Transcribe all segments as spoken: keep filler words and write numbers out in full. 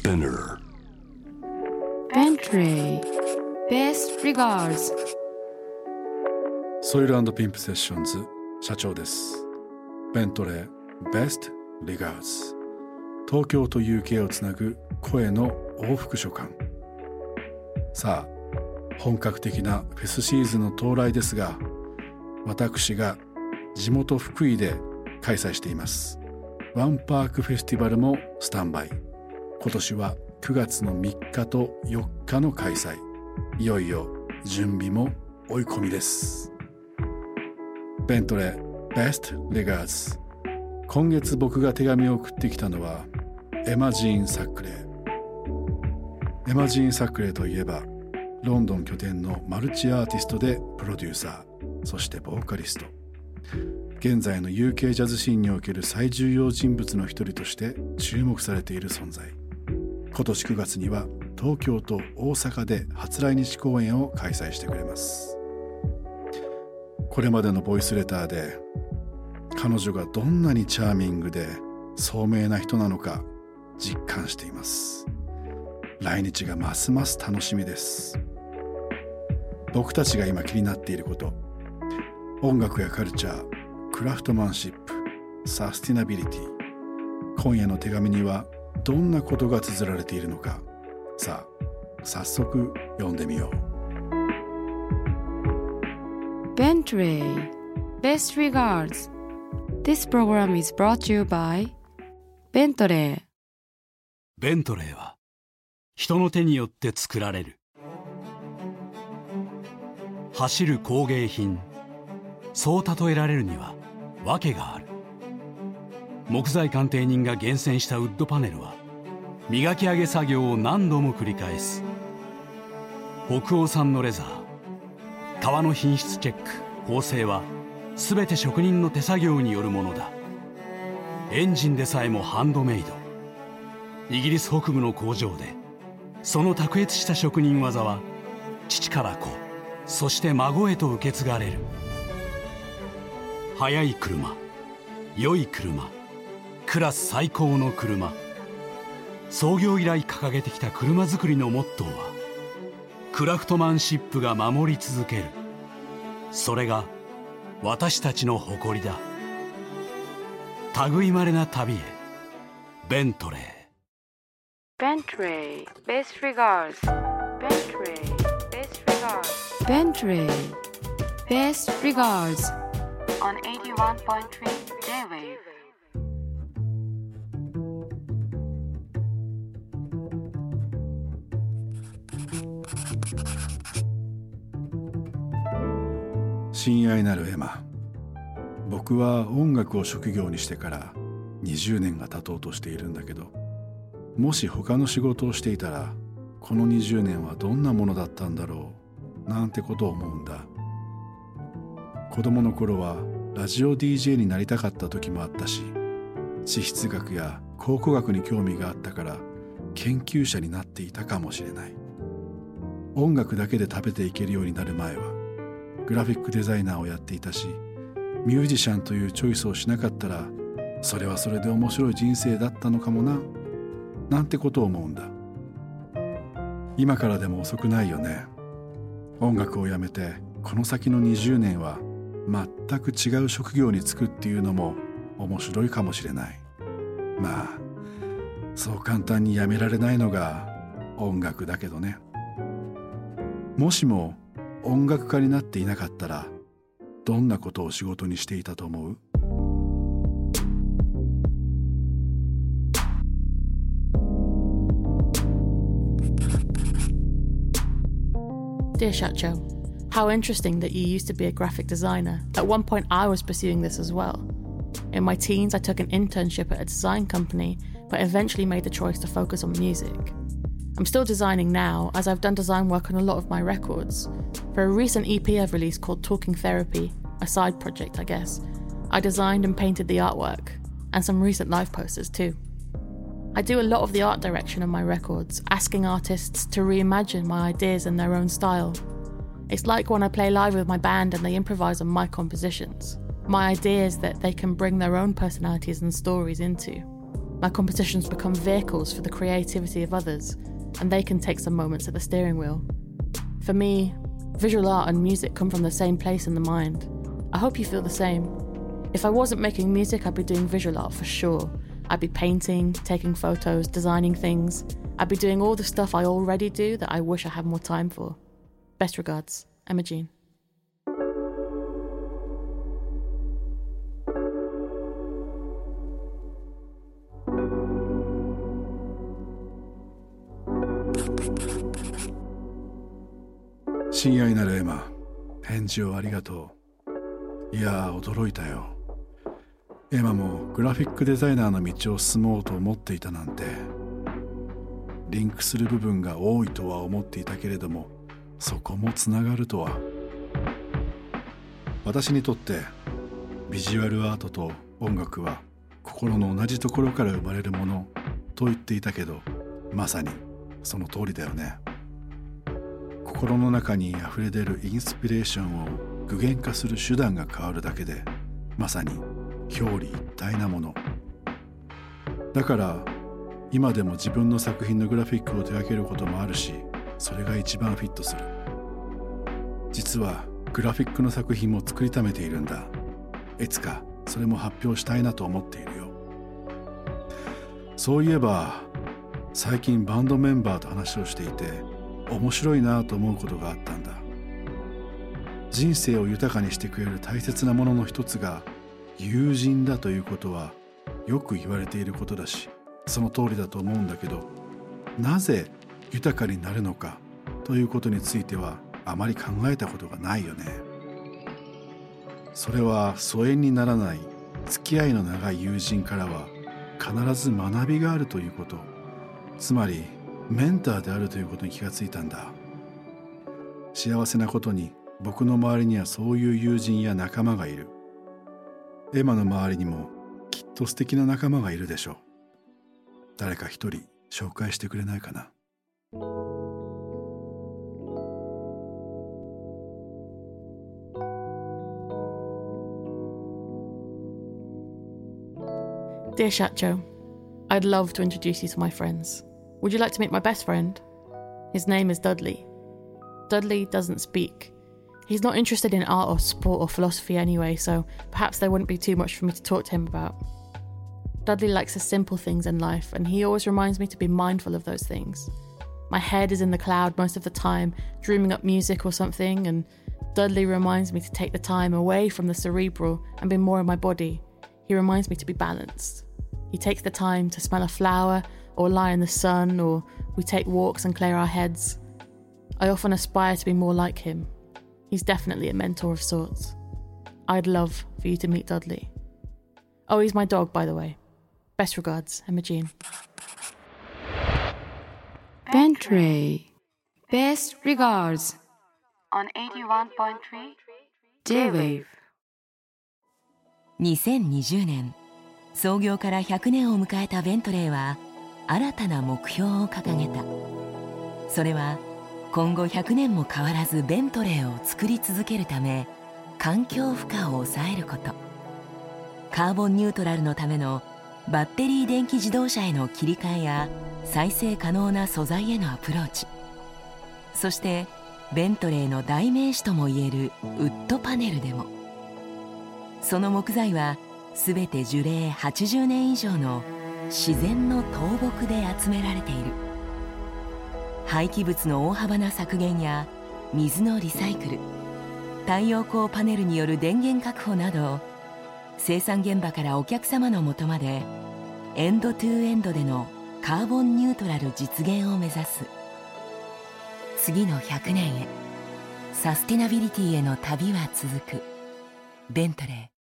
Spinner Bentley Best Regards ソイル&ピンプセッションズ社長です。ベントレー Best Regards 東京と ユーケー をつなぐ声の往復書簡。さあ本格的なフェスシーズンの到来ですが、私が地元福井で開催していますワンパークフェスティバルもスタンバイ。今年はくがつのみっかとよっかの開催。いよいよ準備も追い込みです。ベントレー Best Regards。 今月僕が手紙を送ってきたのはエマ・ジーン・サックレー。エマ・ジーン・サックレーといえばロンドン拠点のマルチアーティストでプロデューサー、そしてボーカリスト。現在の ユーケー ジャズシーンにおける最重要人物の一人として注目されている存在。今年くがつには東京と大阪で初来日公演を開催してくれます。これまでのボイスレターで彼女がどんなにチャーミングで聡明な人なのか実感しています。来日がますます楽しみです。僕たちが今気になっていること、音楽やカルチャー、クラフトマンシップ、サスティナビリティ。今夜の手紙にはどんなことが綴られているのか。さあ早速読んでみよう。 Bentley Best Regards. This program is brought to you by Bentley。 ベントレーは人の手によって作られる。走る工芸品、そう例えられるには訳がある。木材鑑定人が厳選したウッドパネルは磨き上げ作業を何度も繰り返す。北欧産のレザー、革の品質チェック、縫製は全て職人の手作業によるものだ。エンジンでさえもハンドメイド。イギリス北部の工場でその卓越した職人技は父から子、そして孫へと受け継がれる。速い車、良い車、クラス最高の車。創業以来掲げてきた車作りのモットーはクラフトマンシップが守り続ける。それが私たちの誇りだ。類まれな旅へ、ベントレー。 Bentley Best Regards. Bentley Best Regards. Bentley Best Regards on eighty-one point three J-Wave。 親愛なるエマ、僕は音楽を職業にしてからにじゅうねんが経とうとしているんだけど、もし他の仕事をしていたらこのにじゅうねんはどんなものだったんだろうなんてことを思うんだ。子供の頃はラジオ ディージェー になりたかった時もあったし、地質学や考古学に興味があったから研究者になっていたかもしれない。音楽だけで食べていけるようになる前はグラフィックデザイナーをやっていたし、ミュージシャンというチョイスをしなかったらそれはそれで面白い人生だったのかもななんてことを思うんだ。今からでも遅くないよね。音楽をやめてこの先のにじゅうねんは全く違う職業に就くっていうのも面白いかもしれない。まあそう簡単にやめられないのが音楽だけどね。もしも音楽家になっていなかったらどんなことを仕事にしていたと思う ？Dear Shacho, how interesting that you used to be a graphic designer. At one point I was pursuing this as well. In my teens I took an internship at a design company, but eventually made the choice to focus on music. I'm still designing now, as I've done design work on a lot of my records. For a recent E P I've released called Talking Therapy, a side project I guess, I designed and painted the artwork, and some recent live posters too. I do a lot of the art direction on my records, asking artists to reimagine my ideas in their own style. It's like when I play live with my band and they improvise on my compositions, my ideas that they can bring their own personalities and stories into. My competitions become vehicles for the creativity of others, and they can take some moments at the steering wheel. For me, visual art and music come from the same place in the mind. I hope you feel the same. If I wasn't making music, I'd be doing visual art for sure. I'd be painting, taking photos, designing things. I'd be doing all the stuff I already do that I wish I had more time for. Best regards, Emma Jean. 親愛なるエマ、返事をありがとう。いやー、驚いたよ。エマもグラフィックデザイナーの道を進もうと思っていたなんて。リンクする部分が多いとは思っていたけれども、そこもつながるとは。私にとってビジュアルアートと音楽は心の同じところから生まれるものと言っていたけど、まさにその通りだよね。心の中にあふれ出るインスピレーションを具現化する手段が変わるだけで、まさに表裏一体なものだから、今でも自分の作品のグラフィックを手掛けることもあるし、それが一番フィットする。実はグラフィックの作品も作りためているんだ。いつかそれも発表したいなと思っているよ。そういえば最近バンドメンバーと話をしていて、面白いなと思うことがあったんだ。人生を豊かにしてくれる大切なものの一つが友人だということはよく言われていることだし、その通りだと思うんだけど、なぜ豊かになるのかということについてはあまり考えたことがないよね。それは疎遠にならない付き合いの長い友人からは必ず学びがあるということ、つまりメンターであるということに気がついたんだ。幸せなことに僕の周りにはそういう友人や仲間がいる。エマの周りにもきっと素敵な仲間がいるでしょう。誰か一人紹介してくれないかな。 Dear Shacho, I'd love to introduce you to my friends. Would you like to meet my best friend? His name is Dudley. Dudley doesn't speak. He's not interested in art or sport or philosophy anyway, so perhaps there wouldn't be too much for me to talk to him about. Dudley likes the simple things in life, and he always reminds me to be mindful of those things. My head is in the cloud most of the time, dreaming up music or something, and Dudley reminds me to take the time away from the cerebral and be more in my body. He reminds me to be balanced. He takes the time to smell a flower or lie in the sun, or we take walks and clear our heads. I often aspire to be more like him. He's definitely a mentor of sorts. I'd love for you to meet Dudley. Oh, he's my dog, by the way. Best regards, Emma Jean. Bentray. Best regards. On eighty-one point three J-Wave。 にせんにじゅうねん、創業からひゃくねんを迎えたベントレーは新たな目標を掲げた。それは今後ひゃくねんも変わらずベントレーを作り続けるため、環境負荷を抑えること、カーボンニュートラルのためのバッテリー電気自動車への切り替えや再生可能な素材へのアプローチ、そしてベントレーの代名詞ともいえるウッドパネルでも、その木材はすべて樹齢はちじゅうねん以上の自然の倒木で集められている。廃棄物の大幅な削減や水のリサイクル、太陽光パネルによる電源確保など、生産現場からお客様のもとまでエンドトゥエンドでのカーボンニュートラル実現を目指す。次のひゃくねんへ、サスティナビリティへの旅は続く。ベントレー。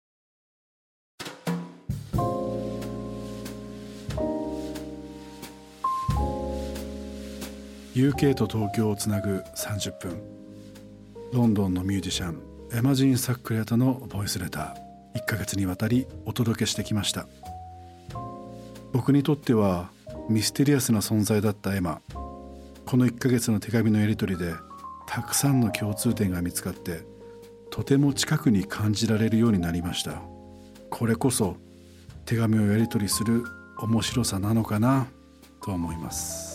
ユーケー と東京をつなぐさんじゅっぷん。ロンドンのミュージシャンエマジーン・サックレタのボイスレター、いっかげつにわたりお届けしてきました。僕にとってはミステリアスな存在だったエマ。このいっかげつの手紙のやり取りでたくさんの共通点が見つかって、とても近くに感じられるようになりました。これこそ手紙をやり取りする面白さなのかなと思います。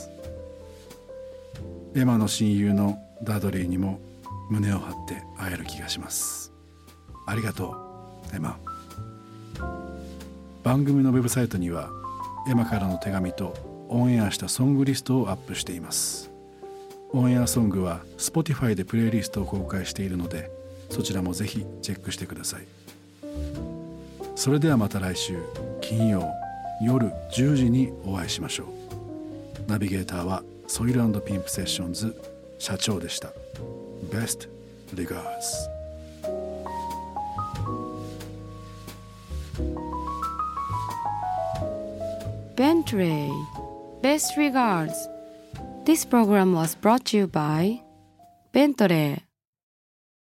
エマの親友のダドリーにも胸を張って会える気がします。ありがとうエマ。番組のウェブサイトにはエマからの手紙とオンエアしたソングリストをアップしています。オンエアソングは Spotify でプレイリストを公開しているので、そちらもぜひチェックしてください。それではまた来週金曜夜じゅうじにお会いしましょう。ナビゲーターはソイル&ピンプセッションズ社長でした。 Best regards。 Bentley, best regards. This program was brought to you by Bentley.